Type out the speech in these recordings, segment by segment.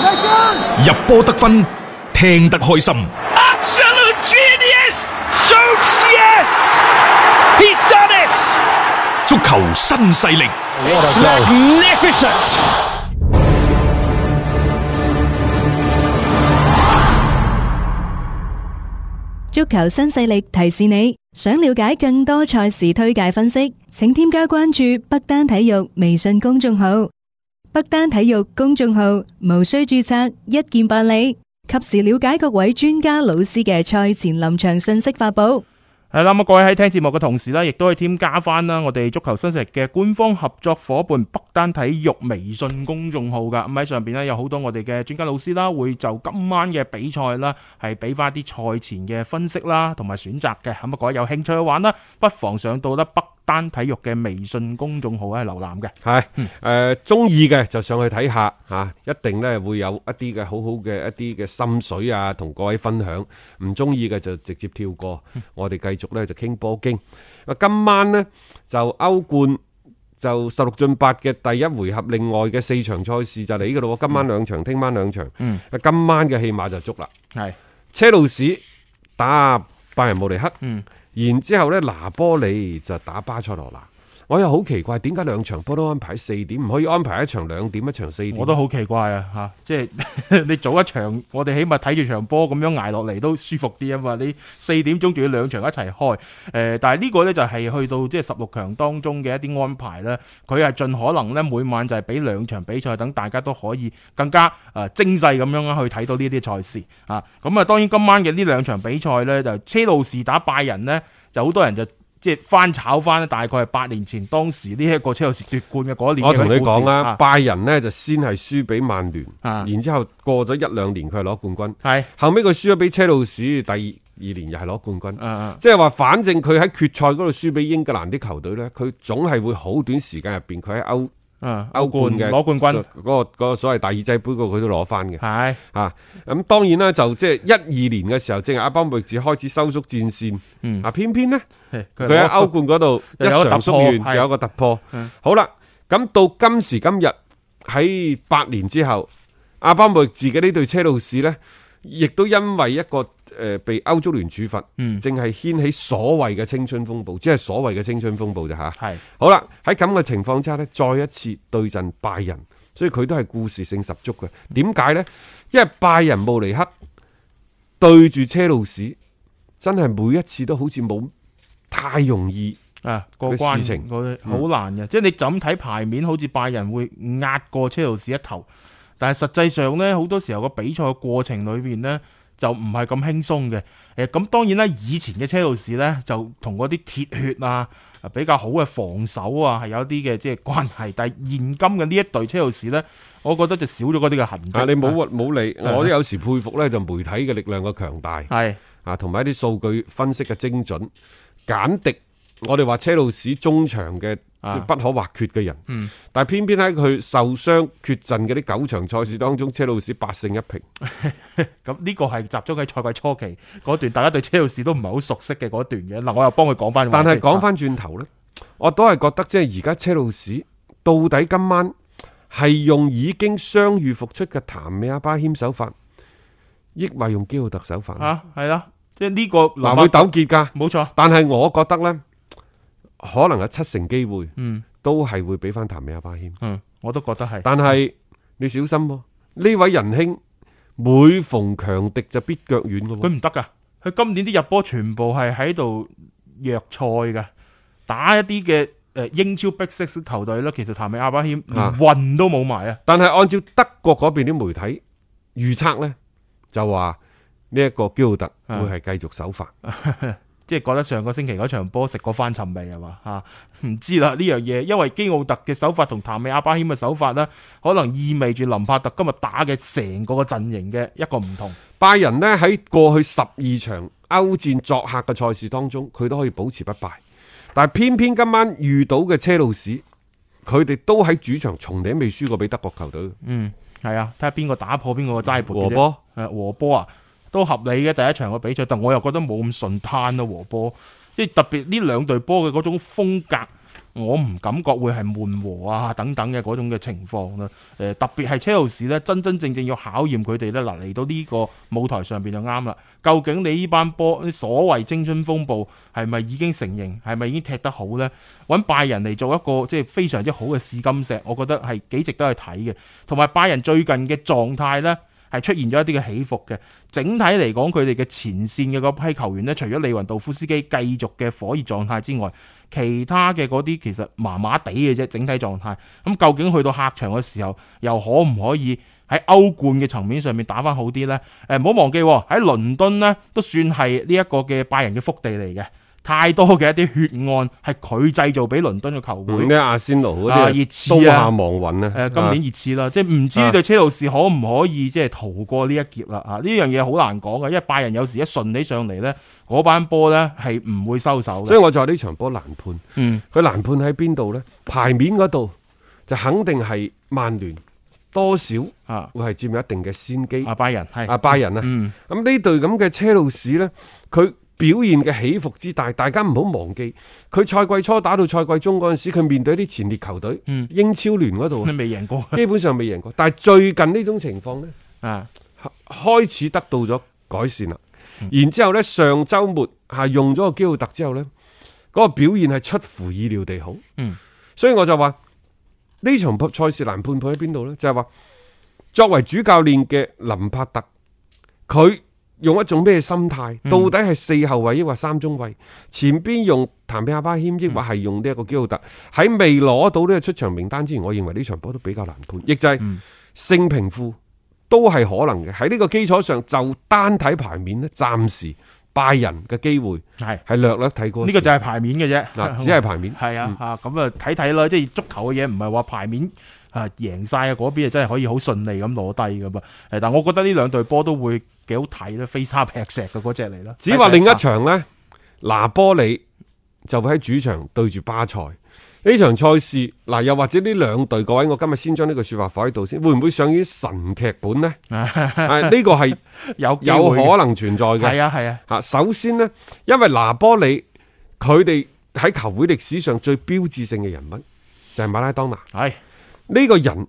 入波得分，聽得開心。 Absolute genius! Shoots yes! He's done it! 足球新勢力 It's magnificent! 足球新勢力提示你，想了解更多賽事推介分析，請添加關注北單體育微信公眾號。北單體育公眾號無需註冊，一鍵辦理，及時了解各位專家老師嘅賽前臨場信息發布。 係啦，咁各位喺聽節目嘅同時呢，亦都可以添加翻啦我哋足球新勢力嘅官方合作伙伴北單體育微信公眾號噶。咁喺上邊呢，有好多我哋嘅專家老師啦，會就今晚嘅比賽啦，係俾翻啲賽前嘅分析啦，同埋選擇嘅。咁啊，各位有興趣去玩啦，不妨上到啦北單體育嘅微信公眾號係瀏覽嘅。 係中意嘅就上去睇下吓，一定咧會有一啲嘅好好嘅一啲嘅心水啊，同各位分享。唔中意嘅就直接跳過。我哋繼續咧就傾波經。今晚呢，就歐冠就16進8嘅第一回合，另外嘅4場賽事就嚟噶咯。今晚2場，聽晚2場。今晚嘅戲碼就足啦。係車路士打拜仁慕尼黑。然之後咧，拿波里就打巴塞羅那。我又好奇怪，點解2場波都安排4點，唔可以安排一場2點，一場4點？ 我都好奇怪啊！吓，即係你早一場，我哋起碼睇住場波咁樣挨落嚟都舒服啲啊嘛！你4點鐘仲要2場一齊開，但係呢個呢，就係去到即係16強當中嘅一啲安排啦。佢係盡可能呢，每晚就係俾2場比賽，等大家都可以更加精細咁樣去睇到呢啲賽事啊！咁啊，當然今晚嘅呢2場比賽呢，就車路士打拜仁呢，就好多人就即係翻炒翻，大概係8年前當時呢一個車路士奪冠嘅嗰一年。 我同你講啦，拜仁呢就先係輸俾曼聯，然之後過咗1-2年佢係攞冠軍，後尾佢輸咗俾車路士，第2年又係攞冠軍。即係話反正佢喺決賽嗰度輸俾英格蘭啲球隊呢，佢總係會好短時間入邊佢喺歐冠嘅攞冠軍嗰個所謂大耳仔杯佢都攞翻嘅。係咁當然啦，就即係12年嘅時候，正係阿巴莫域治開始收縮戰線。偏偏呢，佢喺歐冠嗰度一場縮完，有一個突破。好啦，咁到今時今日喺8年之後，阿巴莫域治嘅呢隊車路士呢，亦都因為一個被歐足聯處罰，正係掀起所謂嘅青春風暴，即係所謂嘅青春風暴啫吓。係好啦，喺咁嘅情況之下呢，再一次對陣拜仁，所以佢都係故事性十足嘅。點解呢？因為拜仁慕尼黑對住車路士，真係每一次都好似冇太容易過關事情，好難嘅。即係你就咁睇牌面，好似拜仁會壓過車路士一頭，但係實際上呢，好多時候個比賽嘅過程裏邊呢，就唔係咁輕鬆嘅。咁當然啦，以前嘅車路士呢，就同嗰啲鐵血啊比較好嘅防守啊係有啲嘅即係關係，但係現今嘅呢一隊車路士呢，我覺得就少咗嗰啲嘅痕跡。 你冇理，我都有時佩服呢，就媒體嘅力量嘅強大，係同埋一啲數據分析嘅精準。簡迪，我哋話車路士中場嘅不可或缺嘅人，但係偏偏喺佢受傷缺陣嘅啲9場賽事當中，車路士8勝1平。 咁呢個係集中喺賽季初期嗰段，大家對車路士都唔係好熟悉嘅嗰段嘅。嗱，我又幫佢講翻。 但係講翻轉頭呢，我都係覺得即係而家車路士到底今晚係用已經傷愈復出嘅譚美阿巴謙手法，抑或用基奧特手法？ 係啦，即係呢個會糾結噶， 冇錯。但係我覺得呢，可能有7成機會，都係會俾翻譚美阿巴謙。 我都覺得係。 但係你小心喎，呢位仁兄每逢強敵就必腳軟嘅。 佢唔得噶，佢今年啲入波全部係喺度弱賽嘅，打一啲嘅英超 Big Six 球隊咧，其實譚美阿巴謙連運都冇埋啊。 但係按照德國嗰邊啲媒體預測呢，就話呢一個基奧特會係繼續首發。 即係覺得上個星期嗰場波食過翻尋味係嘛？唔知啦呢樣嘢，因為基奧特嘅手法同譚美阿巴謙嘅手法呢，可能意味住林柏特今日打嘅成個陣營嘅一個唔同。 拜仁呢，喺過去12場歐戰作客嘅賽事當中，佢都可以保持不敗，但係偏偏今晚遇到嘅車路士，佢哋都喺主場從嚟未輸過俾德國球隊。 係啊，睇下邊個打破邊個齋盤。和波啊！都合理嘅第一場嘅比賽，但我又覺得冇咁順攤咯。和波即係特別呢兩隊波嘅嗰種風格我唔感覺會係悶和啊等等嘅嗰種嘅情況啦。特別係車路士咧，真真正正要考驗佢哋咧，嗱嚟到呢個舞台上邊就啱啦。究竟你呢班波所謂青春風暴係咪已經成型，係咪已經踢得好呢？揾拜仁嚟做一個即係非常之好嘅試金石，我覺得係幾值得去睇嘅。同埋拜仁最近嘅狀態呢，係出現咗一啲嘅起伏嘅。整體嚟講，佢哋嘅前線嘅嗰批球員呢，除咗利雲道夫斯基繼續嘅火熱狀態之外，其他嘅嗰啲其實麻麻地嘅啫。整體狀態咁，究竟去到客場嘅時候，又可唔可以喺歐冠嘅層面上面打返好啲呢？唔好忘記喺倫敦呢，都算係呢一個嘅拜仁嘅福地嚟嘅。太多嘅一啲血案係佢製造俾倫敦嘅球會， 咩阿仙奴嗰啲熱刺啊， 刀下亡魂啊！ 今年熱刺啦，即係唔知對車路士可唔可以即係逃過呢一劫啦？呢樣嘢好難講嘅，因為拜仁有時一順起上嚟呢，嗰班波呢係唔會收手嘅。 所以我就話呢場波難判。佢難判喺邊度呢？牌面嗰度就肯定係曼聯多少會係佔有一定嘅先機。 拜仁係拜仁啊，咁呢隊咁嘅車路士呢，佢表現嘅起伏之大，大家唔好忘記，佢賽季初打到賽季中嗰陣時，佢面對一啲前列球隊，英超聯嗰度， 未贏過， 基本上未贏過。但係最近呢種情況呢，開始得到咗改善啦。然之後呢，上週末用咗個基奧特之後呢，嗰個表現係出乎意料地好。所以我就話呢場賽事難判喺邊度呢？就係話作為主教練嘅林柏特，佢用一種咩心態？到底係4後衛抑或3中衛？前邊用譚比亞巴謙抑或係用呢一個基奧特？喺未攞到呢個出場名單之前，我認為呢場波都比較難判，亦就係勝平負都係可能嘅。喺呢個基礎上，就單睇牌面呢，暫時拜仁嘅機會係略略睇過。 呢個就係牌面嘅啫， 嗱，只係牌面。 係咁啊睇睇啦，即係足球嘅嘢唔係話牌面。贏晒啊！嗰邊真係可以好順利咁攞低噶嘛？但係我覺得呢兩隊波都會幾好睇啦，飛沙劈石嘅嗰隻嚟啦。 只話另一場呢，拿波里就會喺主場對住巴塞呢場賽事。嗱，又或者呢兩隊，各位，我今日先將呢個說法放喺度先，會唔會上演神劇本呢？呢個係有可能存在嘅。係啊。首先呢，因為拿波里佢哋喺球會歷史上最標誌性嘅人物就係馬拉當拿。係。呢個人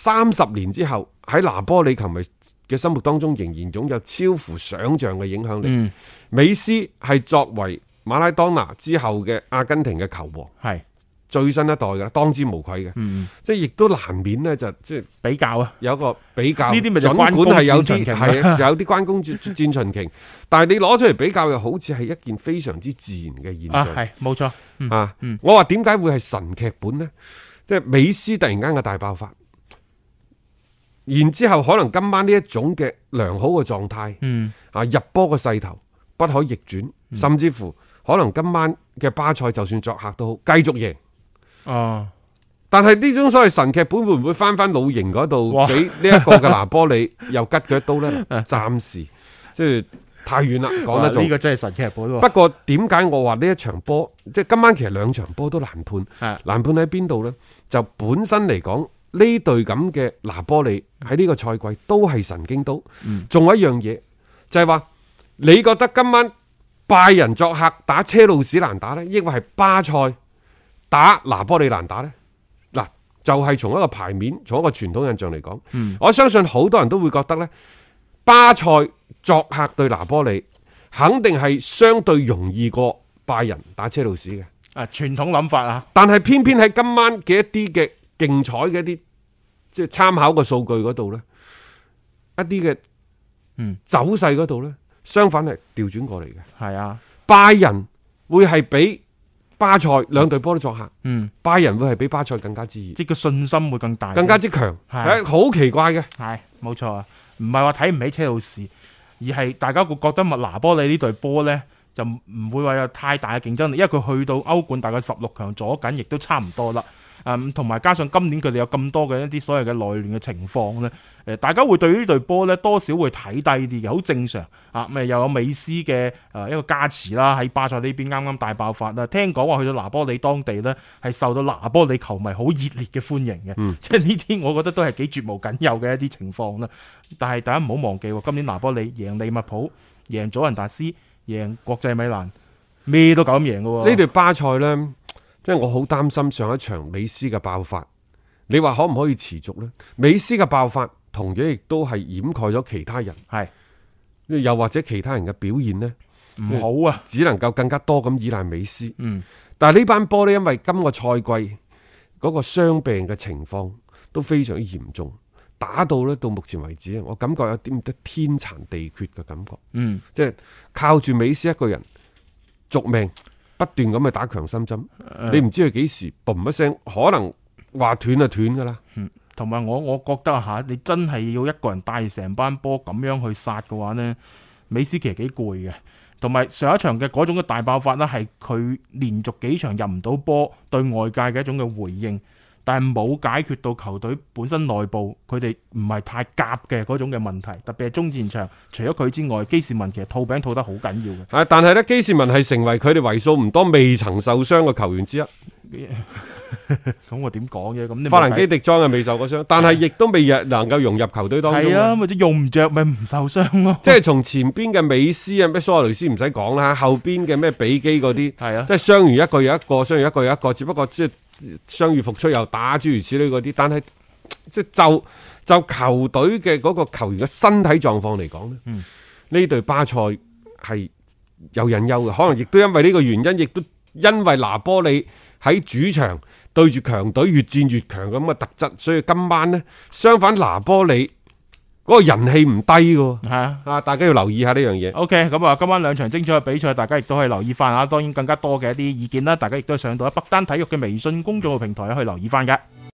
30年之後喺拿波里球迷嘅心目當中仍然擁有超乎想象嘅影響力。美斯係作為馬拉當拿之後嘅阿根廷嘅球王，係最新一代嘅，當之無愧嘅。即係亦都難免呢，就即係比較啊，有一個比較。呢啲咪就關公戰秦瓊，係有啲關公戰秦瓊。但係你攞出嚟比較，又好似係一件非常之自然嘅現象。係冇錯。我話點解會係神劇本呢？即係美斯突然間嘅大爆發，然之後可能今晚呢一種嘅良好嘅狀態，入波嘅勢頭不可逆轉，甚至乎可能今晚嘅巴塞就算作客都好，繼續贏。但係呢種所謂神劇本會唔會翻老營嗰度，俾呢一個嘅拿波里又吉佢一刀呢？暫時即係太遠啦，講得呢個真係神劇本。不過點解我話呢一場波，即係今晚其實兩場波都難判。難判喺邊度呢？就本身嚟講，呢隊咁嘅拿波里喺呢個賽季都係神經刀。仲有一樣嘢就係話，你覺得今晚拜仁作客打車路士難打呢？抑或係巴塞打拿波里難打呢？嗱，就係從一個牌面，從一個傳統印象嚟講，我相信好多人都會覺得呢，巴塞作客對拿波里肯定係相對容易過拜仁打車路士嘅。傳統諗法啊，但係偏偏喺今晚嘅一啲嘅競彩嘅一啲即係參考嘅數據嗰度呢，一啲嘅走勢嗰度呢，相反係調轉過嚟嘅。係啊，拜仁會係比巴塞兩隊波都作客，拜仁會係比巴塞更加之熱，即係個信心會更大，更加之強。係好奇怪嘅，係冇錯啊，唔係話睇唔起車路士，而係大家會覺得拿波里呢隊波呢，就唔會話有太大嘅競爭力，因為佢去到歐冠大概16強左緊，亦都差唔多啦。同埋加上今年佢哋有咁多嘅一啲所謂嘅內亂嘅情況咧，大家會對呢隊波咧多少會睇低啲嘅，好正常啊。咪又有美斯嘅一個加持啦，喺巴塞呢邊啱啱大爆發啦。聽講話去到拿波里當地咧，係受到拿波里球迷好熱烈嘅歡迎嘅，即係呢啲我覺得都係幾絕無僅有嘅一啲情況啦。但係大家唔好忘記，今年拿波里贏利物浦、贏祖雲達斯、贏國際米蘭，咩都夠咁贏嘅。呢隊巴塞咧， 即係我好擔心上一場美斯嘅爆發，你話可唔可以持續呢？美斯嘅爆發同樣亦都係掩蓋咗其他人， 係又或者其他人嘅表現呢唔好啊， 只能夠更加多咁依賴美斯。但係呢班波呢，因為今個賽季嗰個傷病嘅情況都非常之嚴重，打到呢到目前為止，我感覺有啲得天殘地缺嘅感覺。即係靠住美斯一個人續命，不斷咁去打強心針，你唔知佢幾時嘣一聲，可能話斷就斷噶啦。 同埋我覺得吓，你真係要一個人帶成班波咁樣去殺嘅話呢，美斯其實幾攰嘅。同埋上一場嘅嗰種嘅大爆發呢，係佢連續幾場入唔到波，對外界嘅一種嘅回應，但係冇解決到球隊本身內部佢哋唔係太夾嘅嗰種嘅問題，特別係中前場，除咗佢之外，基士文其實套餅套得好緊要嘅。 但係呢，基士文係成為佢哋為數唔多未曾受傷嘅球員之一。 咁我點講啫？咁法蘭基迪莊係未受過傷，但係亦都未能夠融入球隊當中。 係啊，或者用唔着咪唔受傷咯。 即係從前邊嘅美斯啊，咩蘇亞雷斯唔使講啦，後邊嘅咩比基嗰啲，係啊，即係傷完一個又一個，傷完一個又一個，只不過即係傷愈復出又打諸如此類嗰啲。但係即係就球隊嘅嗰個球員嘅身體狀況嚟講呢，呢隊巴塞係有隱憂嘅，可能亦都因為呢個原因，亦都因為拿波利喺主場對住強隊越戰越強咁嘅特質，所以今晚呢，相反拿波利嗰個人氣唔低嘅，係大家要留意下呢樣嘢。 OK， 咁啊，今晚兩場精彩嘅比賽，大家亦都可以留意翻啊。當然更加多嘅一啲意見啦，大家亦都上到北單體育嘅微信公眾號平台去留意翻嘅。